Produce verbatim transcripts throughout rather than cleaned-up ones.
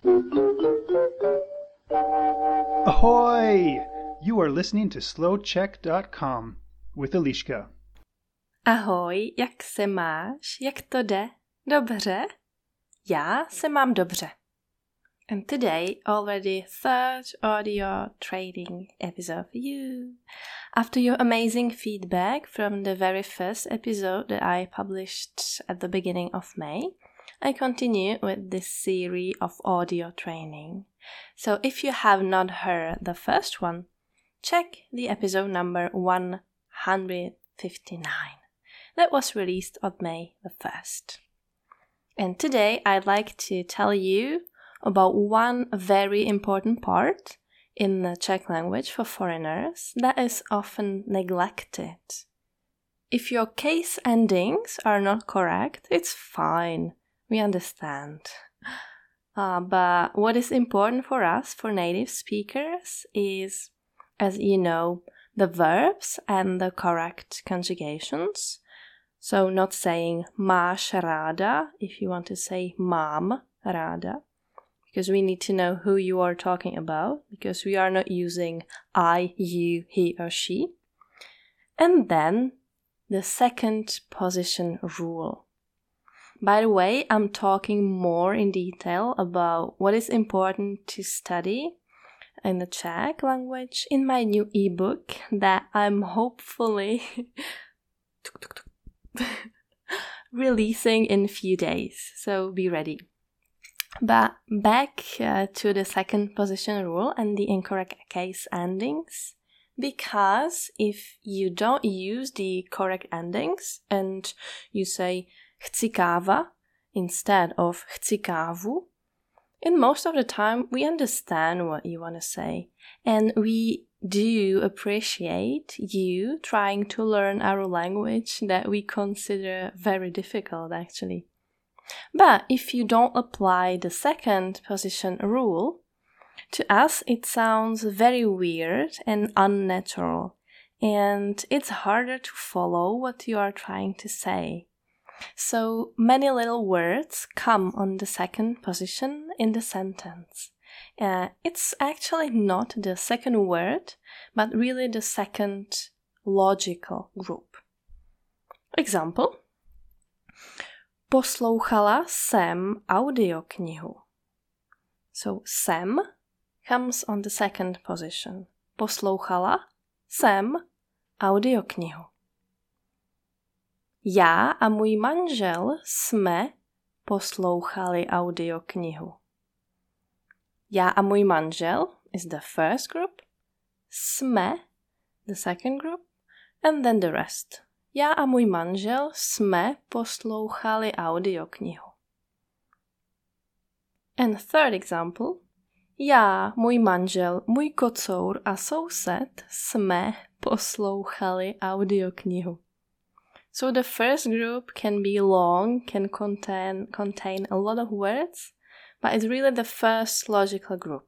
Ahoy! You are listening to slow check dot com with Eliška. Ahoj, jak se máš? Jak to jde? Dobře? Já se mám dobře. And today, already third audio trading episode for you. After your amazing feedback from the very first episode that I published at the beginning of May, I continue with this series of audio training. So if you have not heard the first one, check the episode number one hundred fifty-nine. That was released on May the first. And today I'd like to tell you about one very important part in the Czech language for foreigners that is often neglected. If your case endings are not correct, it's fine. We understand. Uh, but what is important for us, for native speakers, is, as you know, the verbs and the correct conjugations. So not saying máš ráda if you want to say mám ráda, because we need to know who you are talking about, because we are not using I, you, he or she. And then the second position rule. By the way, I'm talking more in detail about what is important to study in the Czech language in my new ebook that I'm hopefully releasing in a few days. So be ready. But back uh, to the second position rule and the incorrect case endings. Because if you don't use the correct endings and you say chci káva instead of chci kávu, in most of the time we understand what you want to say. And we do appreciate you trying to learn our language that we consider very difficult actually. But if you don't apply the second position rule, to us it sounds very weird and unnatural, and it's harder to follow what you are trying to say. So many little words come on the second position in the sentence. Uh, it's actually not the second word, but really the second logical group. Example. Poslouchala jsem audioknihu. So jsem comes on the second position. Poslouchala jsem audioknihu. Já a můj manžel jsme poslouchali audioknihu. Já a můj manžel is the first group, jsme the second group, and then the rest. Já a můj manžel jsme poslouchali audioknihu. And third example. Já, můj manžel, můj kocour a soused jsme poslouchali audioknihu. So the first group can be long, can contain, contain a lot of words, but it's really the first logical group.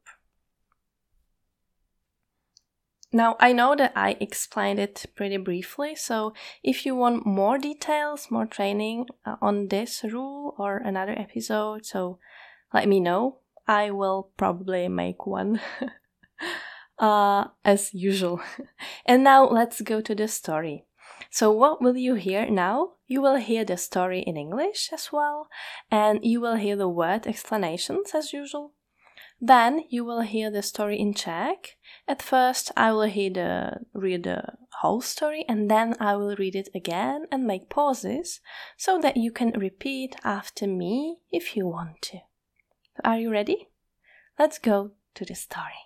Now, I know that I explained it pretty briefly, so if you want more details, more training uh, on this rule or another episode, so let me know. I will probably make one, uh, as usual. And now let's go to the story. So what will you hear now? You will hear the story in English as well, and you will hear the word explanations as usual. Then you will hear the story in Czech. At first I will hear the, read the whole story, and then I will read it again and make pauses so that you can repeat after me if you want to. Are you ready? Let's go to the story.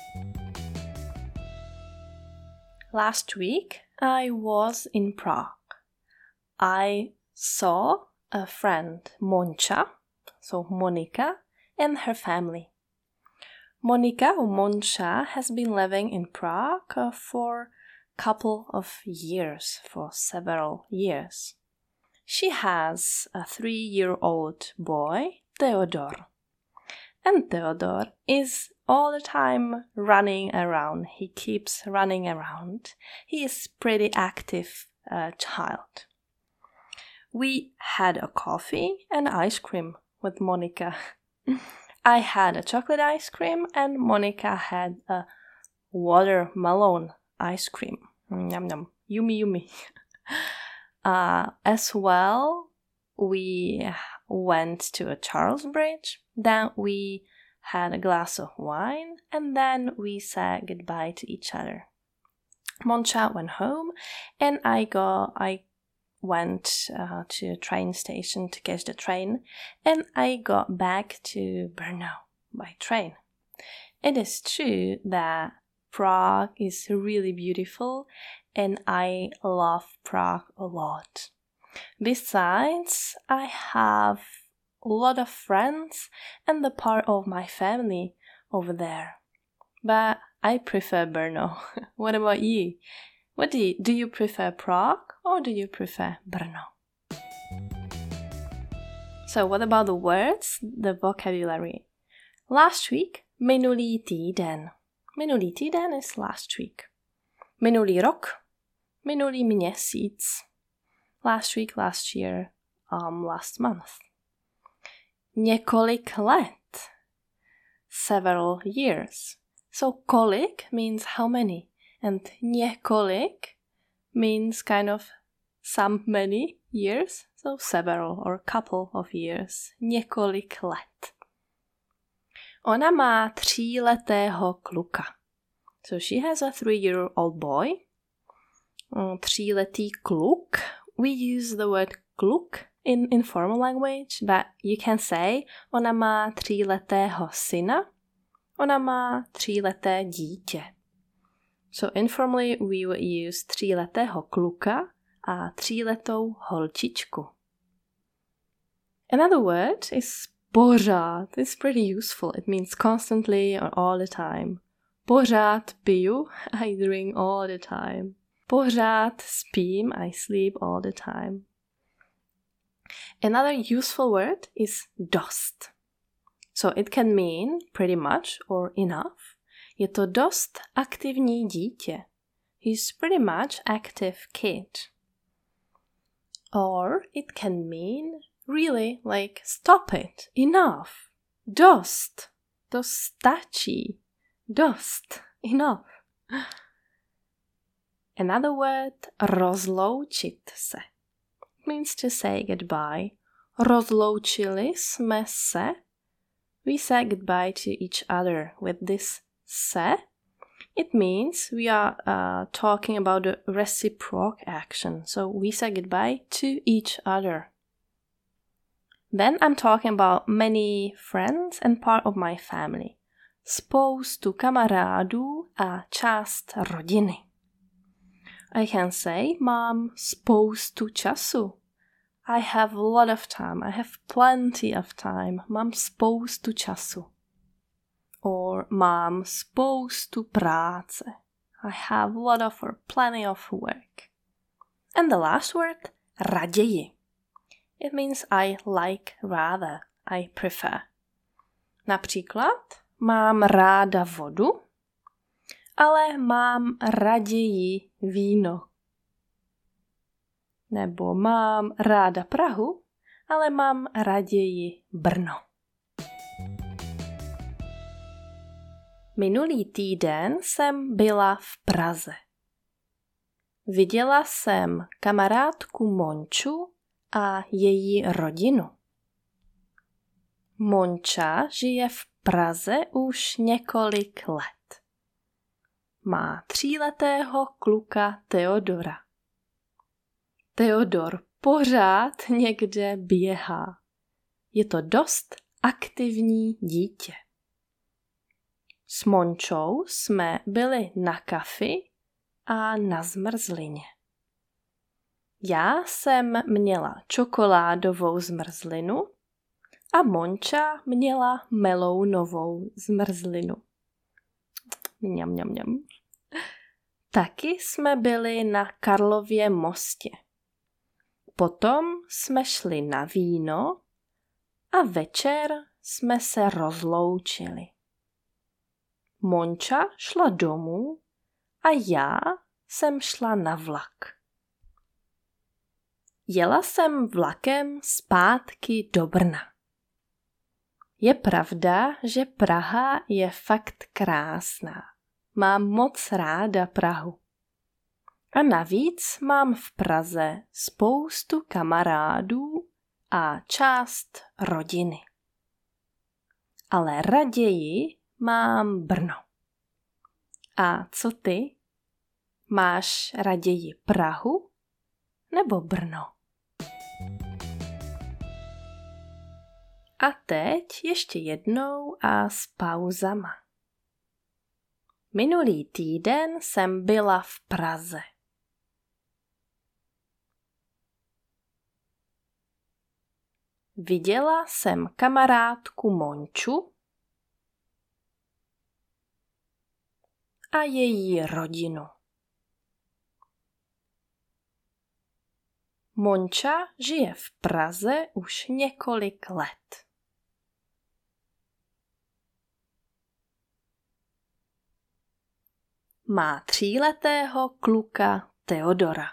Last week I was in Prague. I saw a friend, Moncha, so Monika, and her family. Monika or Moncha has been living in Prague uh, for a couple of years, for several years. She has a three-year-old boy, Theodor. And Theodor is all the time running around. He keeps running around. He is pretty active uh, child. We had a coffee and ice cream with Monika. I had a chocolate ice cream and Monica had a watermelon ice cream. Yum yum. Yummy yummy. uh, as well, we went to a Charles Bridge. Then we had a glass of wine. And then we said goodbye to each other. Moncha went home and I got... I went uh, to a train station to catch the train, and I got back to Brno by train. It is true that Prague is really beautiful, and I love Prague a lot. Besides, I have a lot of friends and the part of my family over there. But I prefer Brno. What about you? What do you, do you prefer Prague or do you prefer Brno? So what about the words, the vocabulary? Last week, minulý týden. Minulý týden is last week. Minulý rok, minulý měsíc. Last week, last year, um, last month. Několik let. Several years. So kolik means how many. And několik means kind of some many years, so several or couple of years. Několik let. Ona má tříletého kluka. So she has a three-year-old boy. Tříletý kluk. We use the word kluk in informal language, but you can say ona má tříletého syna. Ona má tříleté dítě. So informally we would use tříletého kluka a tříletou holčičku. Another word is pořád. It's pretty useful. It means constantly or all the time. Pořád piju. I drink all the time. Pořád spím. I sleep all the time. Another useful word is dost. So it can mean pretty much or enough. Je to dost aktivní dítě. He's pretty much active kid. Or it can mean really like stop it, enough, dost, to stačí, dost, enough. Another word, rozloučit se. It means to say goodbye. Rozloučili jsme se. We said goodbye to each other with this se. It means we are uh, talking about the reciprocal action. So we say goodbye to each other. Then I'm talking about many friends and part of my family. Spoustu kamarádů a část rodiny. I can say, mám spoustu času. I have a lot of time. I have plenty of time. Mám spoustu času. Or mám spoustu práce. I have a lot of or plenty of work. And the last word, raději. It means I like rather, I prefer. Například, mám ráda vodu, ale mám raději víno. Nebo mám ráda Prahu, ale mám raději Brno. Minulý týden jsem byla v Praze. Viděla jsem kamarádku Monču a její rodinu. Monča žije v Praze už několik let. Má tříletého kluka Teodora. Teodor pořád někde běhá. Je to dost aktivní dítě. S Mončou jsme byli na kafi a na zmrzlině. Já jsem měla čokoládovou zmrzlinu a Monča měla melounovou zmrzlinu. Mňam, mňam, mňam. Taky jsme byli na Karlově mostě. Potom jsme šli na víno a večer jsme se rozloučili. Monča šla domů a já jsem šla na vlak. Jela jsem vlakem zpátky do Brna. Je pravda, že Praha je fakt krásná. Mám moc ráda Prahu. A navíc mám v Praze spoustu kamarádů a část rodiny. Ale raději mám Brno. A co ty? Máš raději Prahu nebo Brno? A teď ještě jednou a s pauzama. Minulý týden jsem byla v Praze. Viděla jsem kamarádku Monču a její rodinu. Monča žije v Praze už několik let. Má tříletého kluka Teodora.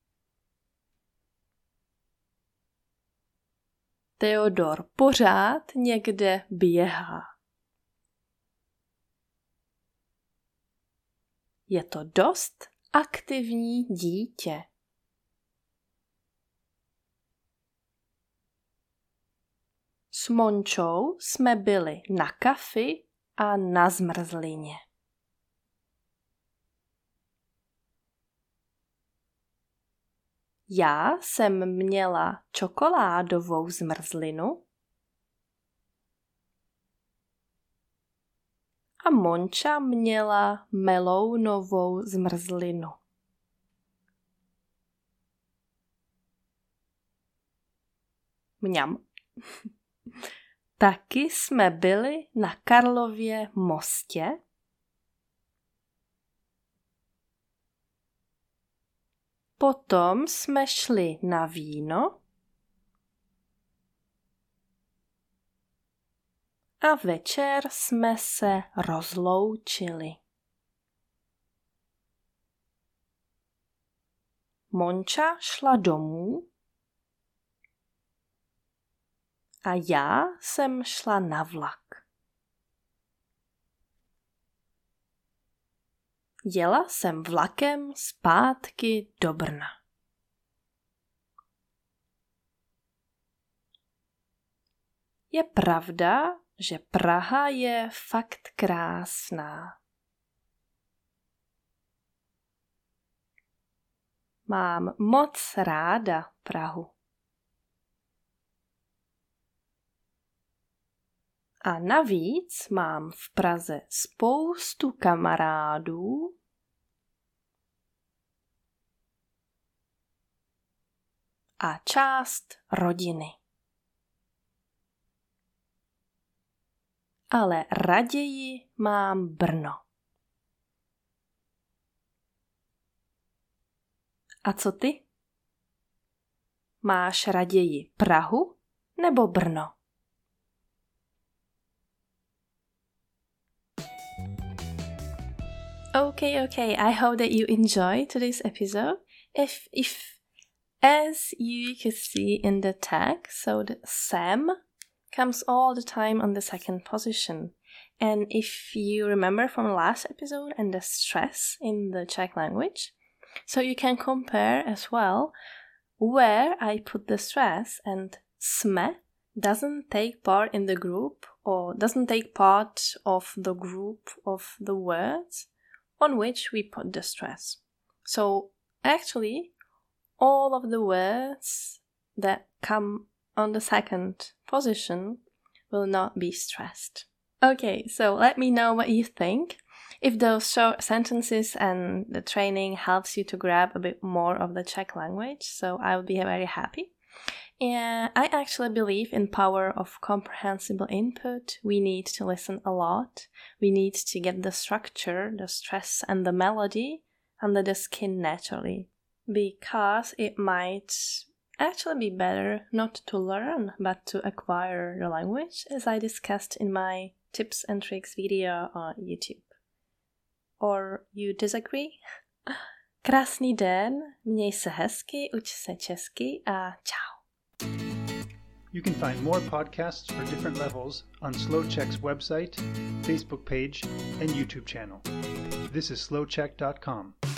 Teodor pořád někde běhá. Je to dost aktivní dítě. S Mončou jsme byli na kafi a na zmrzlině. Já jsem měla čokoládovou zmrzlinu a Monča měla melounovou zmrzlinu. Mňam. Taky jsme byli na Karlově mostě potom jsme šli na víno a večer jsme se rozloučili. Monča šla domů a já jsem šla na vlak. Jela jsem vlakem zpátky do Brna. Je pravda, že Praha je fakt krásná. Mám moc ráda Prahu. A navíc mám v Praze spoustu kamarádů a část rodiny. Ale raději mám Brno. A co ty? Máš raději Prahu nebo Brno? Okay, okay. I hope that you enjoyed today's episode. If, if, as you can see in the tag, so the Sam comes all the time on the second position. And if you remember from the last episode and the stress in the Czech language, so you can compare as well where I put the stress, and sme doesn't take part in the group or doesn't take part of the group of the words on which we put the stress. So actually, all of the words that come on the second position will not be stressed. Okay, so let me know what you think. If those short sentences and the training helps you to grab a bit more of the Czech language, so I will be very happy. And I actually believe in power of comprehensible input. We need to listen a lot. We need to get the structure, the stress and the melody under the skin naturally. Because it might actually be better not to learn, but to acquire the language, as I discussed in my tips and tricks video on YouTube. Or you disagree? Krásný den, měj se hezky, uč se česky a čau. You can find more podcasts for different levels on SlowCheck's website, Facebook page, and YouTube channel. This is slow check dot com.